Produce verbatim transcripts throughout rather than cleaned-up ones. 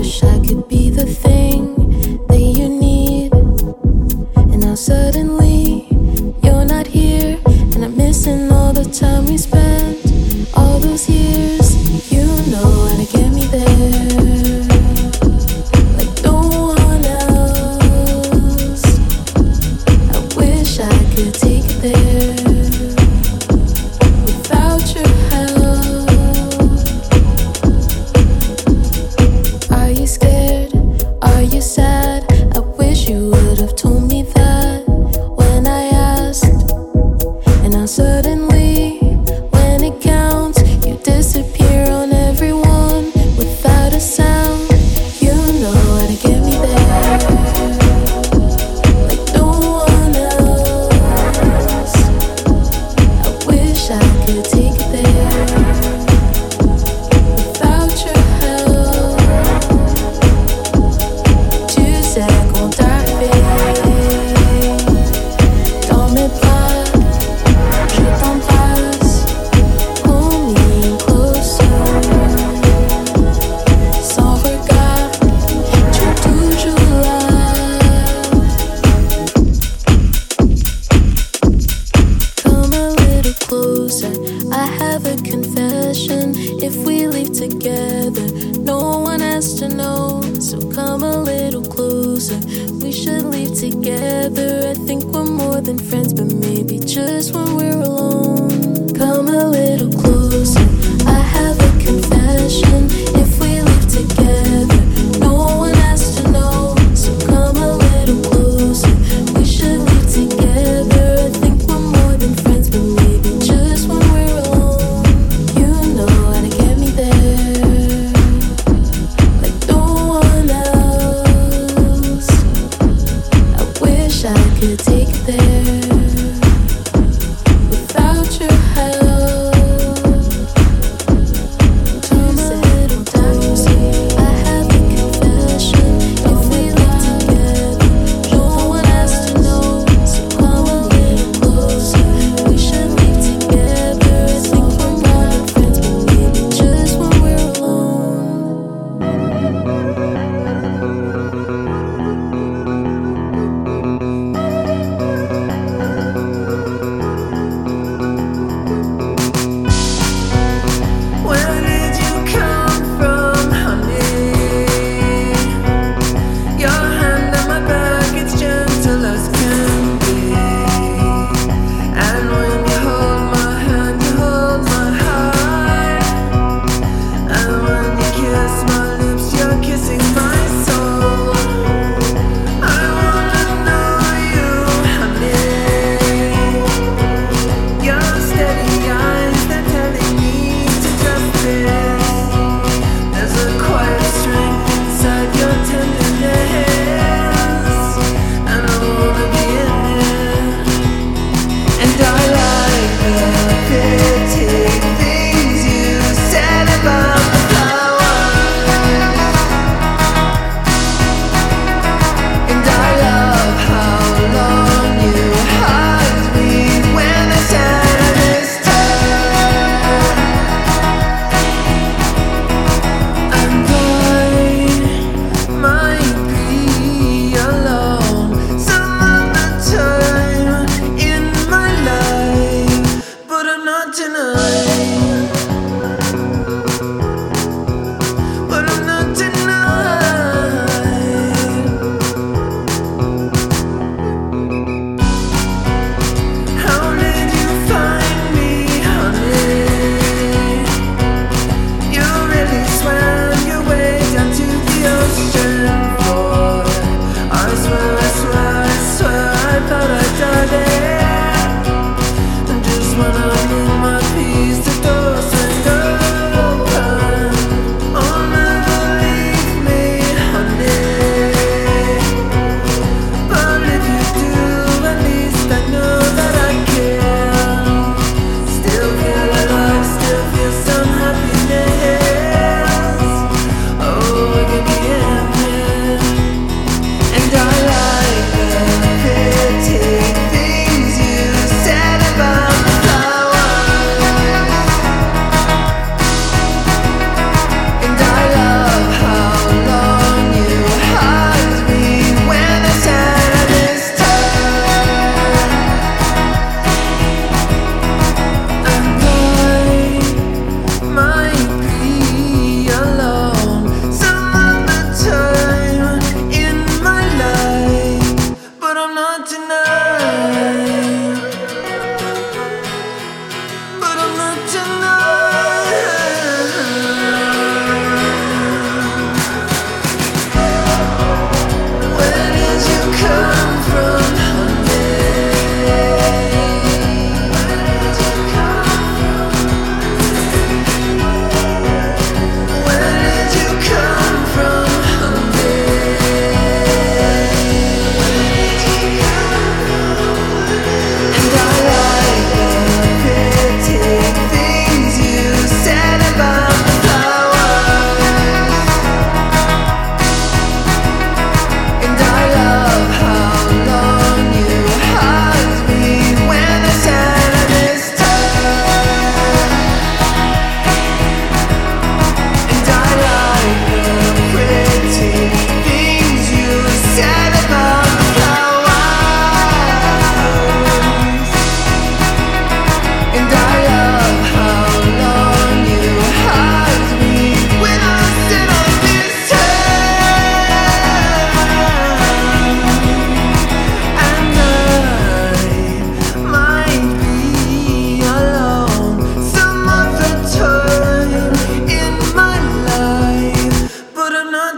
wish I could be the thing that you need. And now suddenly you're not here, and I'm missing all the time we spent, all those years. You know how to get me there, like no one else. I wish I could take it there without your help. Are you scared? Are you sad? I wish you would have told me that when I asked. And now suddenly, when it counts, you disappear on everyone without a sound. You know how to get me there, like no one else. I wish I could take it there without your help. Tu sais qu'on t'arrive dans mes bras, je t'embrasse, hold me closer. Sans regard, tu es toujours là. Come a little closer, I have a confession. If we leave together, no one has to know. So come a little closer, we should leave together. I think we're more than friends, but maybe just when we're alone. Come a little closer, I have a confession. If we leave together, no one has to know. So come a little closer, we should leave together. I think we're more than friends, but maybe just when we're alone. You know how to get me there, like no one else. I wish I could take it there without your help. Come a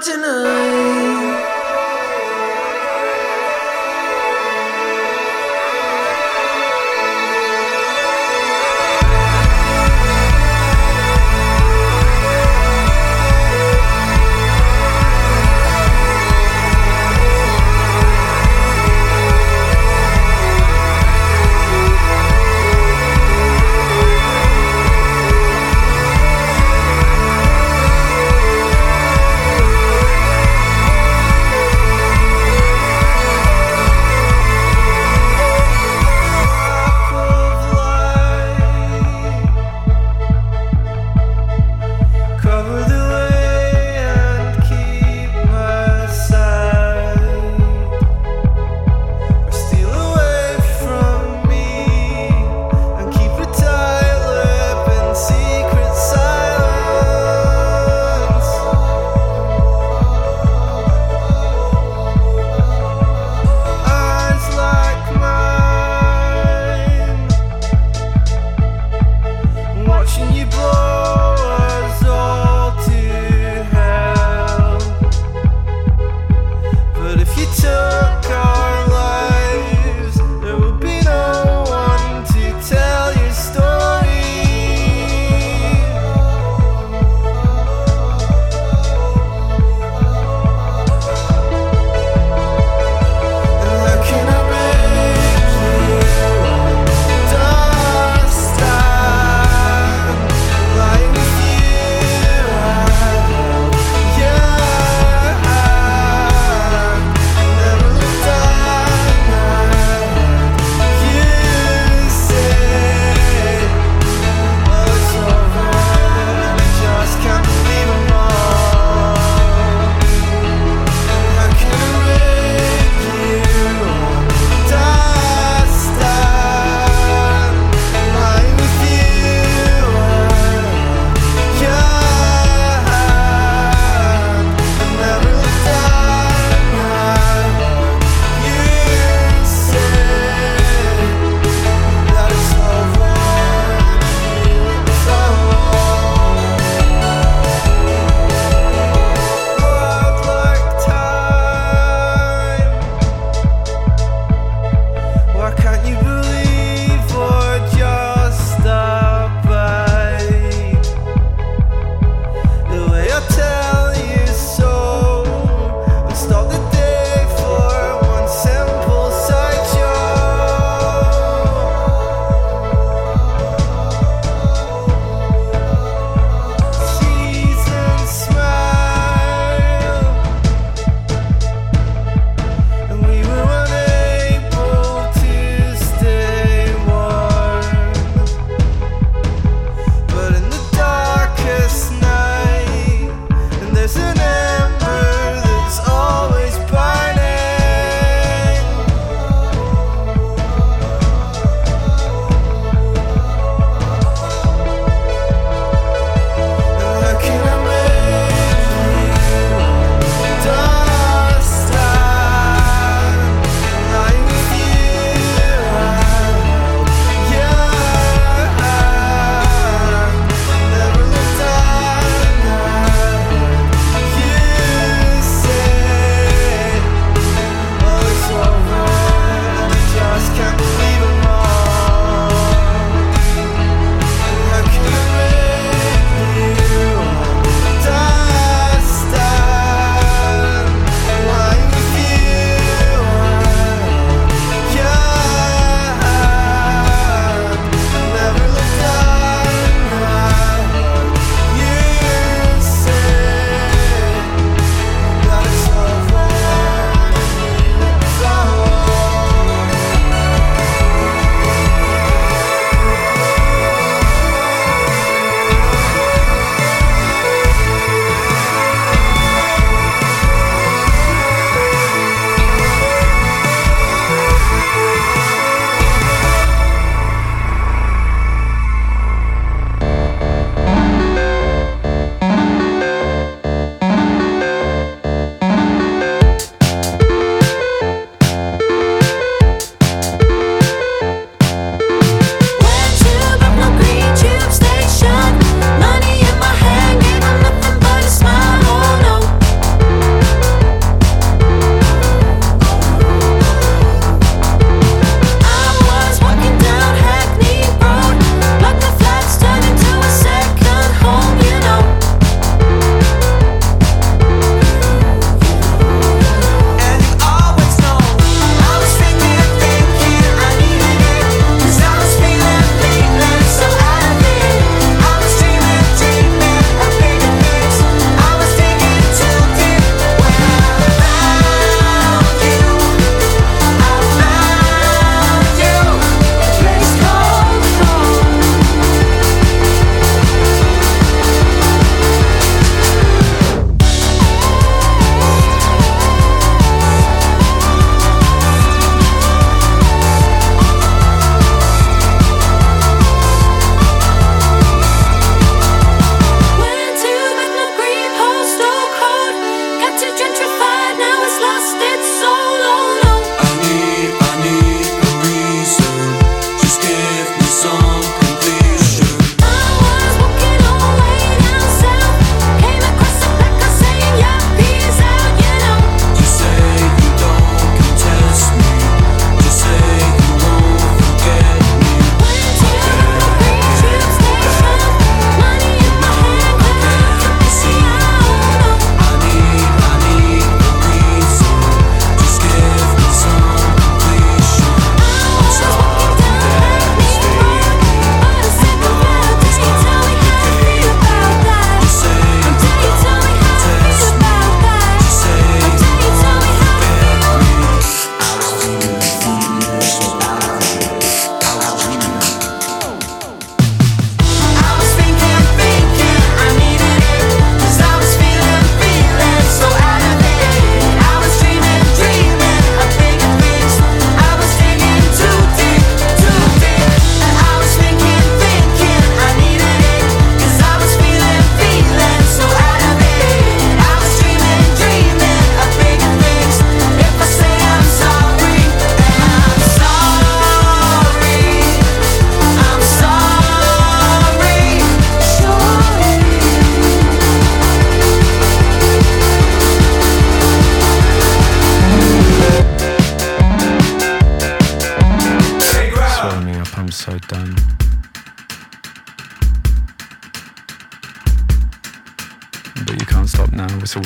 tonight.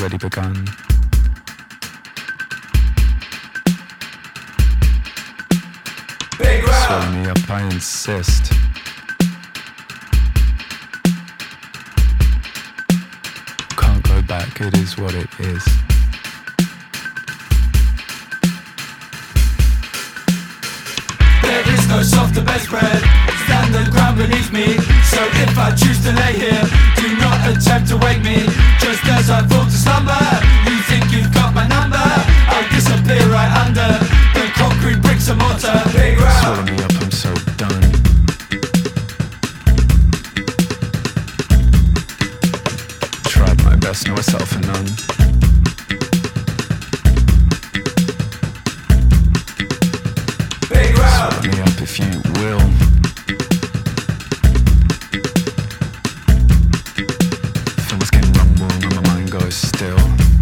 already begun. Swallow me up, I insist. Can't go back, it is what it is. There is no softer bedspread than the ground beneath me. So if I choose to lay here, do not attempt to wake me. Just as I fall to slumber, you think you've got my number. I'll disappear right under the concrete bricks and mortar. Big round. Swallow me up, I'm so done. Tried my best, no myself for none. Big round. Swallow me up if you will. Things can rumble and my mind goes still.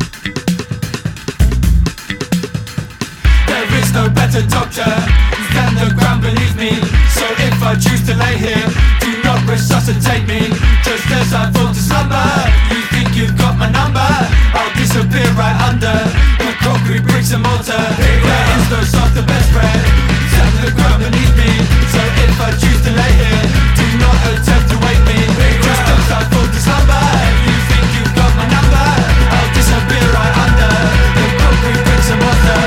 There is no better doctor than the ground beneath me. So if I choose to lay here, do not resuscitate me. Just as I fall to slumber, you think you've got my number. I'll disappear right under the concrete bricks and mortar. There is no softer bedspread than the ground beneath me. So if I choose to lay here, do not attempt to wake me. Just as I fall to slumber, you think you've got my number. I'll disappear right under the concrete bricks and mortar.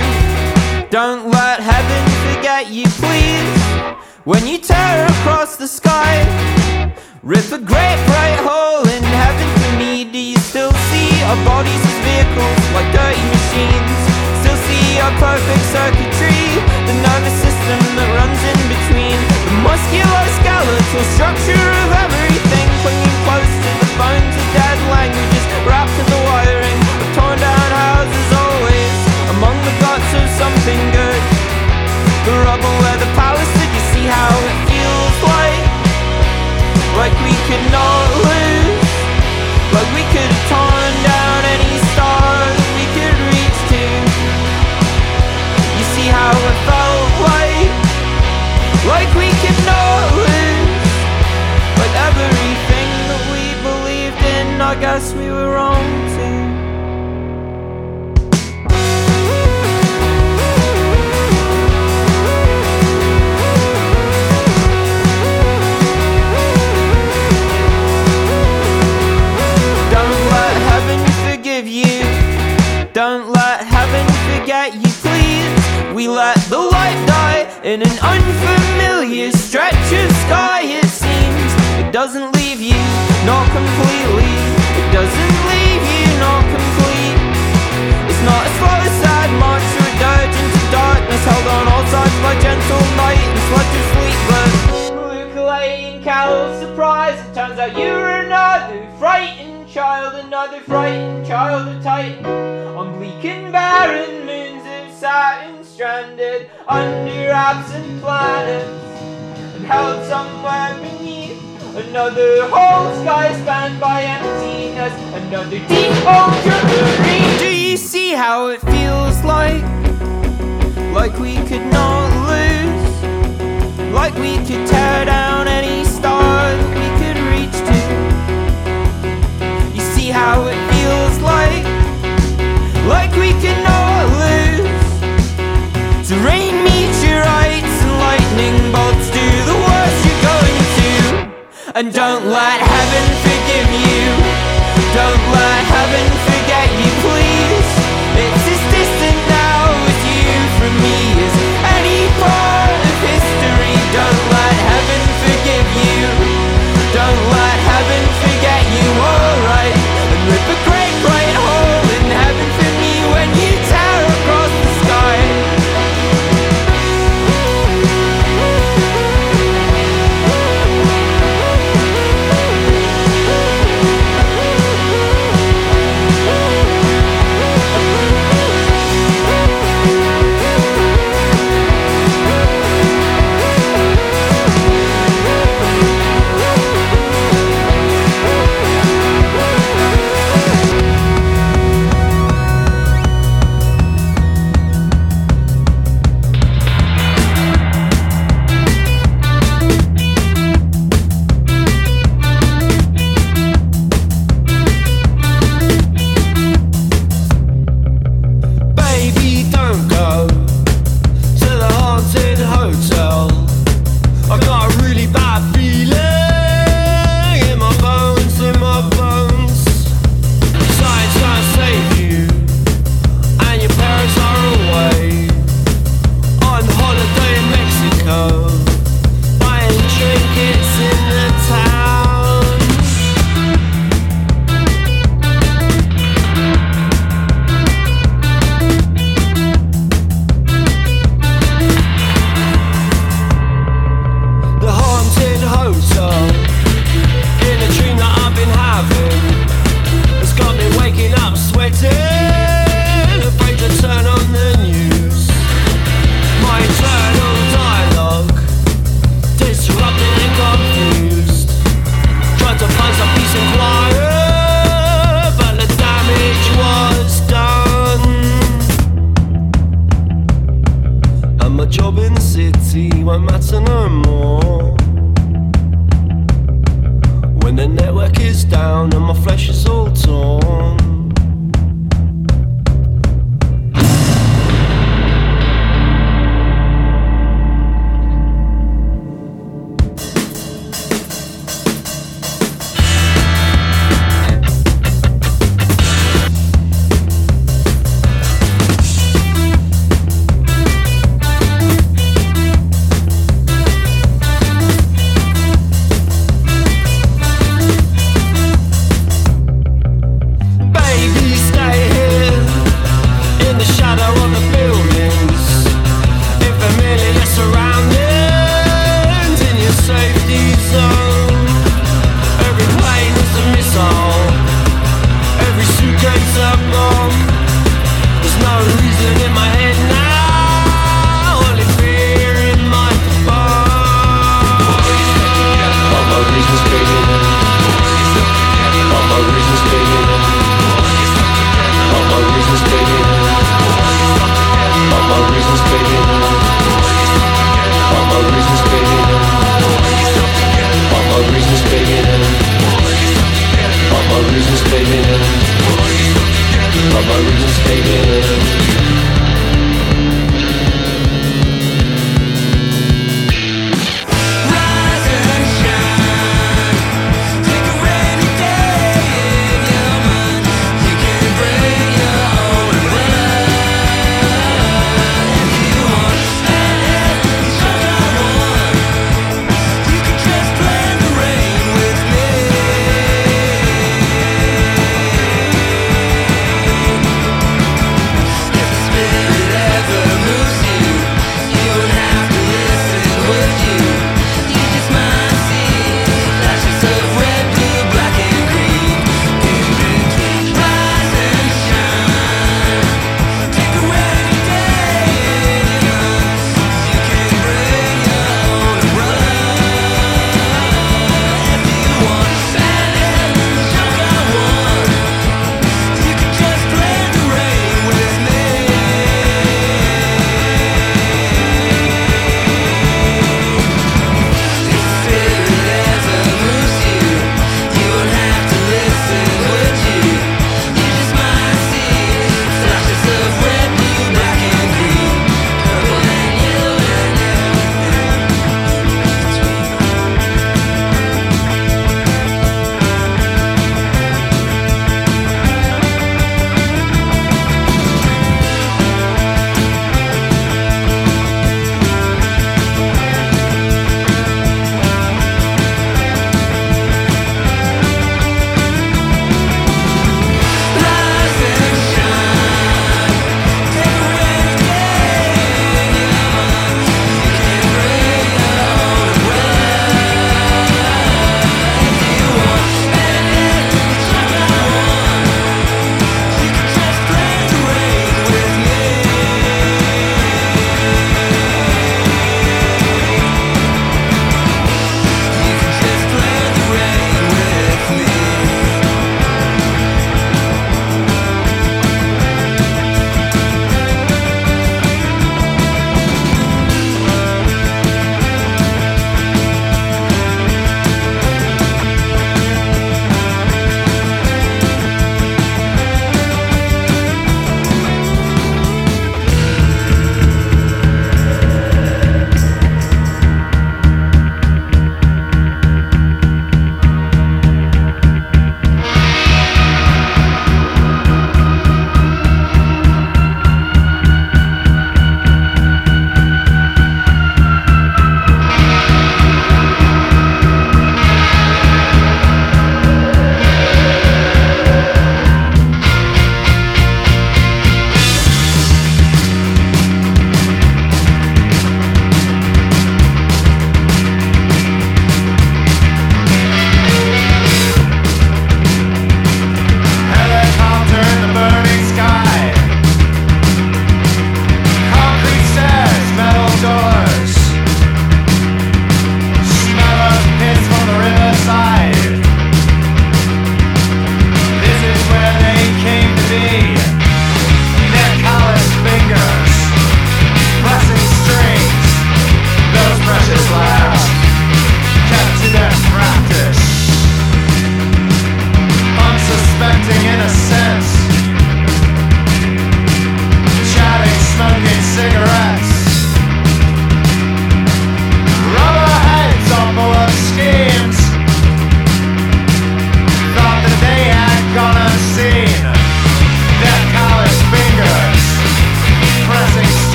Don't let heaven forget you, please. When you tear across the sky, rip a great bright hole in heaven for me. Do you still see our bodies as vehicles, like dirty machines? Still see our perfect circuitry, the nervous system that runs in between, the musculoskeletal structure of everything, clinging close to the bones of dead languages, wrapped in the wiring of torn down houses, always among the guts of something good. The rubble where the palace stood, you see how it feels like, like we could not lose, like we could have torn down any star that we could reach to. You see how it felt like, like we could not lose, like everything that we believed in, I guess we were wrong too. Don't let heaven forget you, please. We let the light die in an unfamiliar stretch of sky. It seems it doesn't leave you, not completely. It doesn't leave you, not complete. It's not a slow, sad march or a dirge into darkness, held on all sides by gentle night and sludge of sleep. But ukulele carol surprise, it turns out you were another frightened child, another frightened child of Titan, on bleak and barren moons of Saturn, stranded under absent planets, and held somewhere beneath another whole sky spanned by emptiness, another deep ultramarine. Do you see how it feels like, like we could not lose, like we could tear down any star that we could reach to? You see how it feels like, like we cannot lose, to rain meteorites and lightning bolts, do the worst you're going to. And don't let heaven forgive you, don't let heaven forget you, please. It's as distant now as you from me as any part of history. Don't let heaven forgive you, don't let heaven forget you, alright. And rip a great bright hole in heaven for me when you tear across the sky.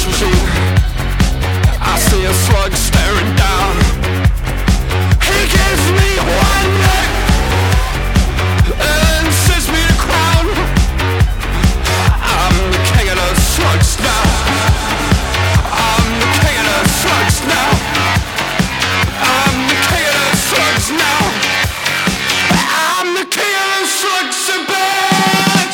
machine. I see a slug staring down. He gives me one look and sends me the crown. I'm the king of the slugs now. I'm the king of the slugs now. I'm the king of the slugs now. I'm the king of the slugs, bitch.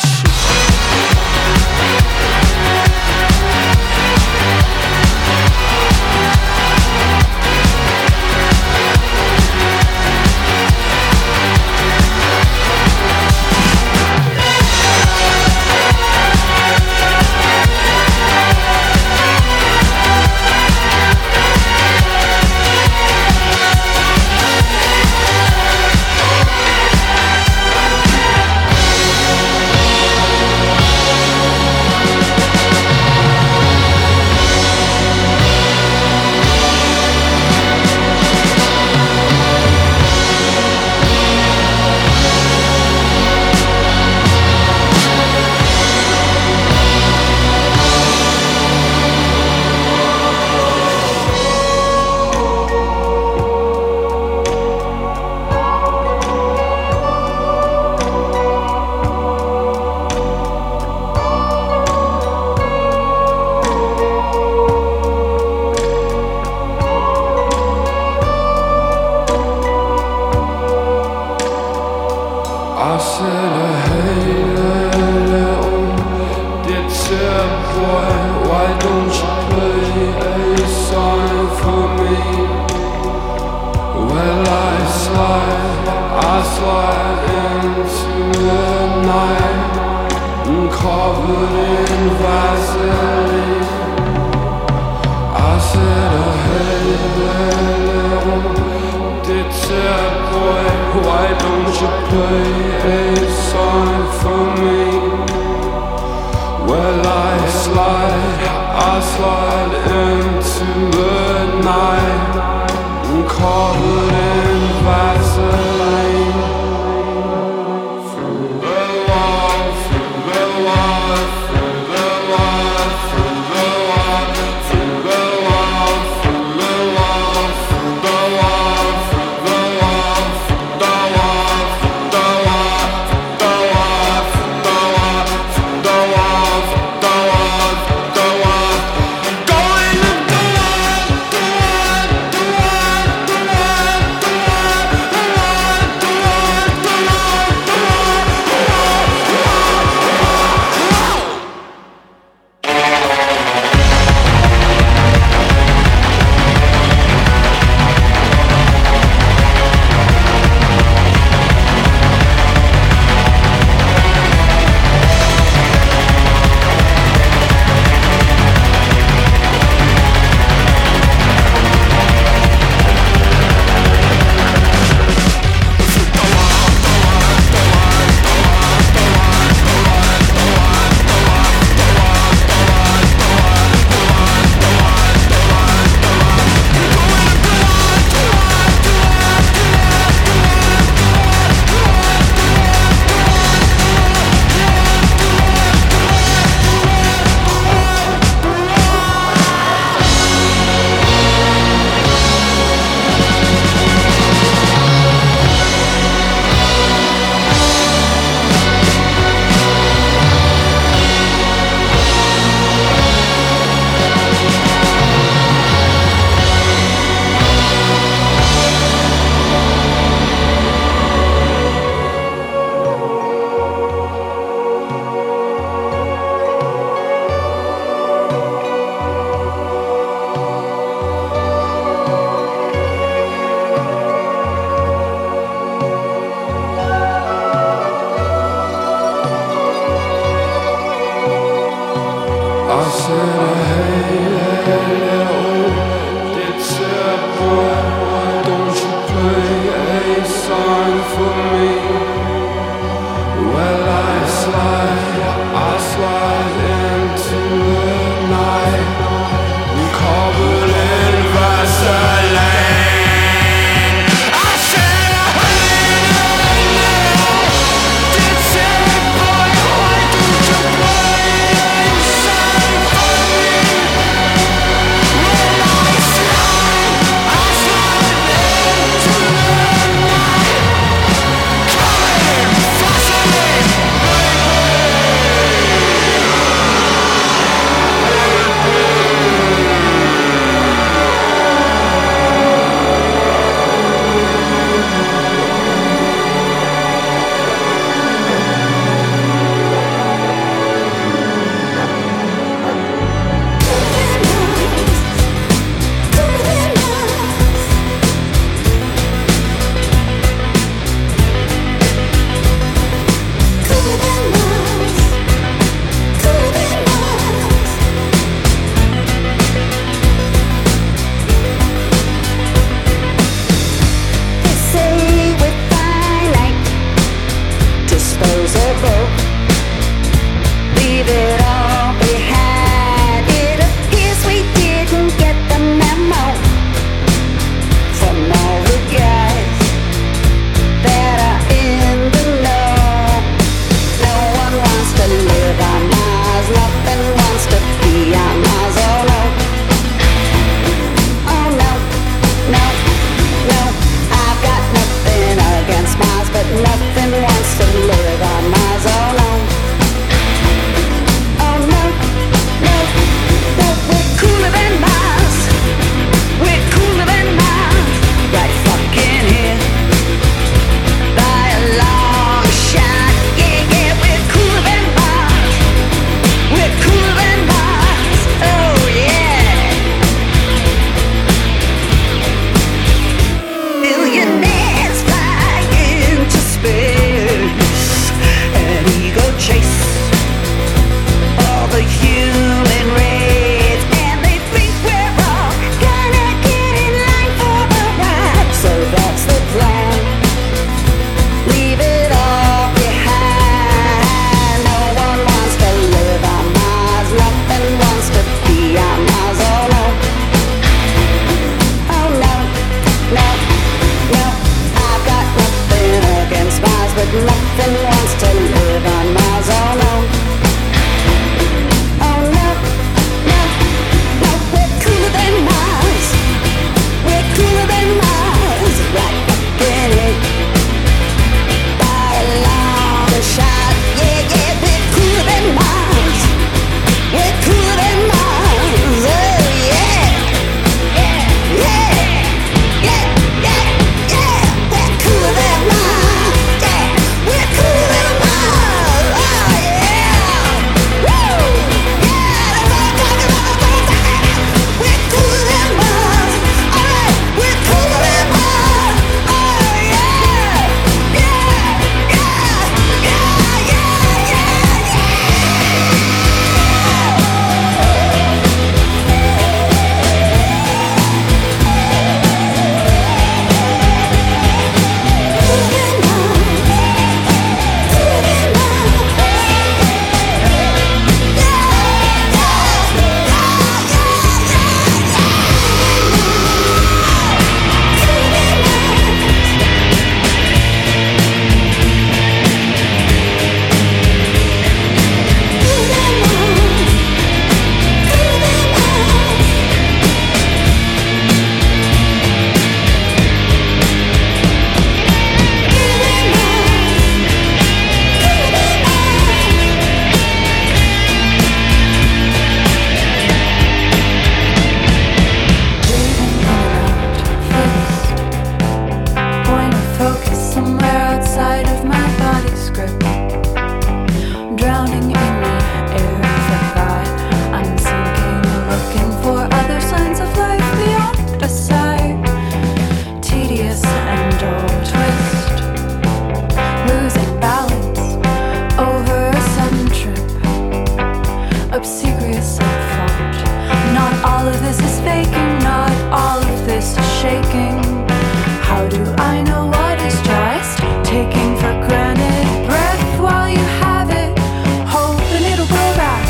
is at fault. Not all of this is faking, not all of this is shaking. How do I know what is just? Taking for granted breath while you have it, hoping it'll go back.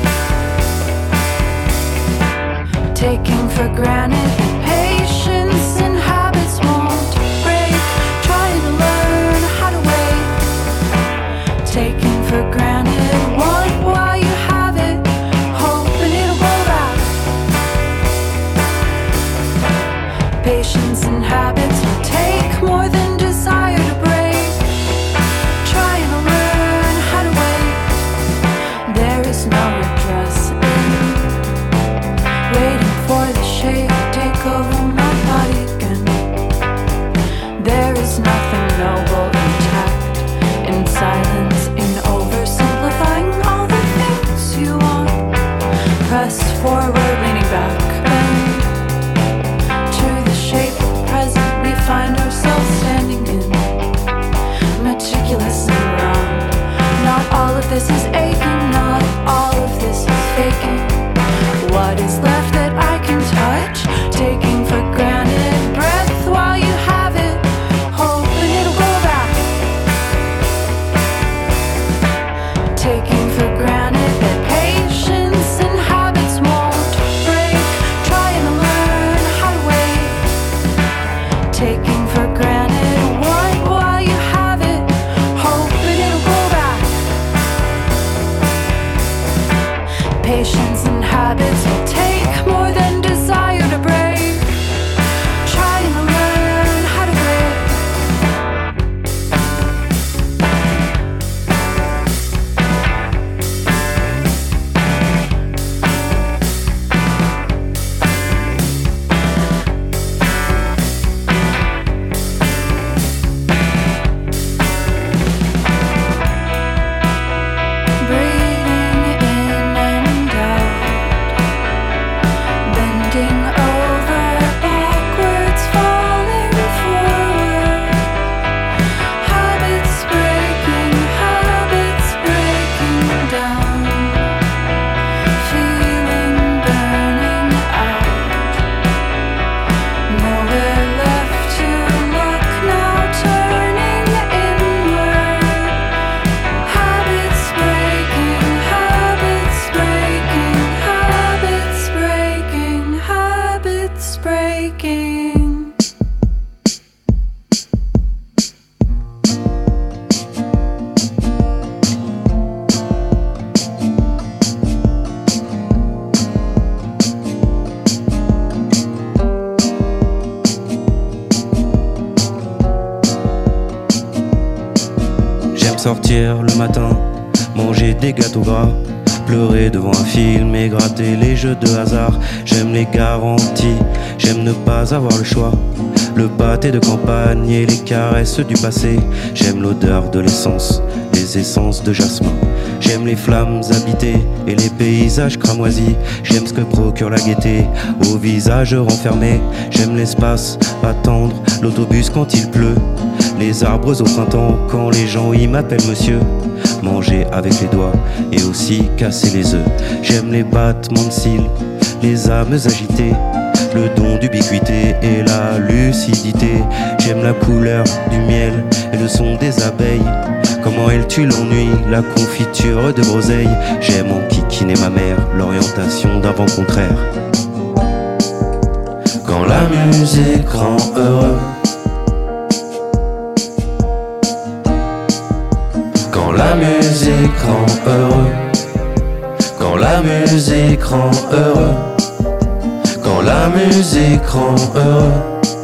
Taking for granted that patience and habits won't break. Trying to learn how to wait. Taking for granted want while you have it, hoping it'll go back. Patience and habits will take more than desire to break. Trying to learn how to wait. There is no redress in waiting for the shade to take over my body again. There is nothing noble intact in silence, in oversimplifying all the things you want. Pressed forward, leaning back, bend to the shape of the present we find ourselves standing in. Meticulous and round. Not all of this is aching, not all of this is faking. What is left that I can touch? Taking for granted breath while you have it, hoping it'll go back. Taking for granted that patience and habits won't break. Trying to learn how to wait. Taking for granted what while you have it, hoping it'll go back. Patience and habits will take more than desire to break. Trying to learn how to wait. Breathing in and out, bending over backwards, falling forward. Habits breaking, habits breaking down. Feeling burning out. Nowhere left to look now, turning inward. Habits breaking, habits breaking, habits breaking, habits breaking. J'aime sortir le matin, manger des gâteaux gras, pleurer devant un film et gratter les jeux de hasard. J'aime les garanties, j'aime ne pas avoir le choix. Le pâté de campagne et les caresses du passé. J'aime l'odeur de l'essence, les essences de jasmin. J'aime les flammes habitées et les paysages cramoisis. J'aime ce que procure la gaieté au visage renfermé. J'aime l'espace, attendre l'autobus quand il pleut. Les arbres au printemps quand les gens y m'appellent monsieur. Manger avec les doigts et aussi casser les œufs. J'aime les battements de cils, les âmes agitées, le don d'ubiquité et la lucidité. J'aime la couleur du miel et le son des abeilles. Comment elle tue l'ennui, la confiture de groseille. J'aime enquiquiner ma mère, l'orientation d'un vent contraire. Quand la musique rend heureux, quand la musique rend heureux, quand la musique rend heureux, quand la musique rend heureux,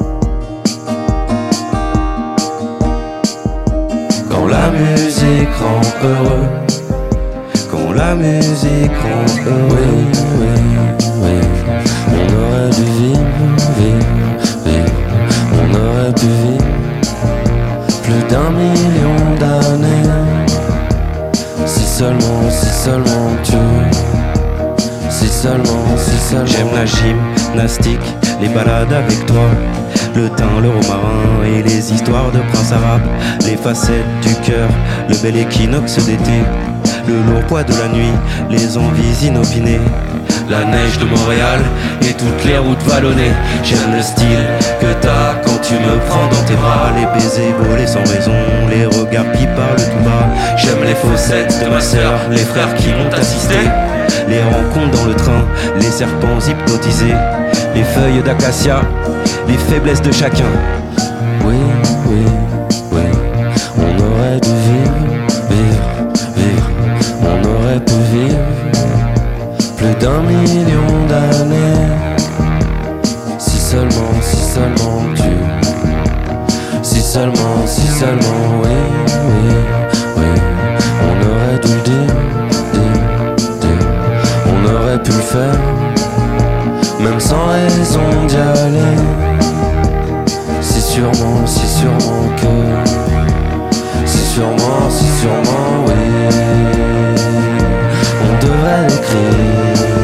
quand la musique rend heureux, quand la musique rend heureux. Oui, oui, oui. On aurait dû vivre, vivre, vivre. On aurait pu vivre plus d'un million d'années. Si seulement, si seulement tu, si seulement, si seulement. J'aime la gymnastique, les balades avec toi, le thym, le romarin et les histoires de princes arabes, les facettes du cœur, le bel équinoxe d'été, le lourd poids de la nuit, les envies inopinées, la neige de Montréal et toutes les routes vallonnées. J'aime le style que t'as quand tu me prends dans tes bras, les baisers volés sans raison, les regards qui parlent tout bas. J'aime les fossettes de ma sœur, les frères qui m'ont assisté, les rencontres dans le train, les serpents hypnotisés, les feuilles d'acacia, les faiblesses de chacun. Oui, oui, oui, on aurait dû vivre, vivre, vivre, on aurait pu vivre plus d'un million d'années. Si seulement, si seulement tu, si seulement, si seulement, oui, oui, oui, on aurait dû le dire, dire, dire, on aurait pu le faire, même sans raison d'y aller. Si sûrement, si sûrement que, si sûrement, si sûrement, oui, on devrait l'écrire.